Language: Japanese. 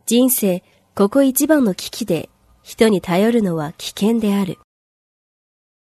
人生ここ一番の危機で人に頼るのは危険である。